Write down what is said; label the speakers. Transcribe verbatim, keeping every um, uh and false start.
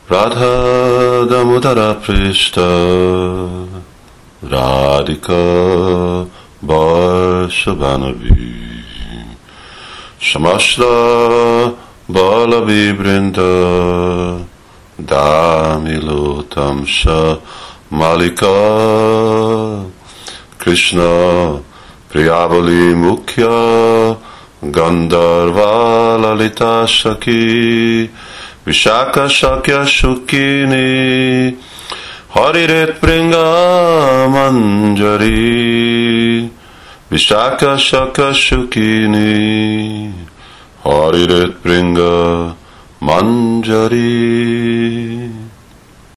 Speaker 1: Radha Damodara Prishta Radhika Varshavanavi Shamasla Balavi Brinda Damilotamsha Malika Krishna Priyavali Mukhya Gandharva Lalita Shaki Vishaka Shakya Shukini Hariret Pringa Manjari Vishaka Shakya Shukini Hariret Pringa Manjari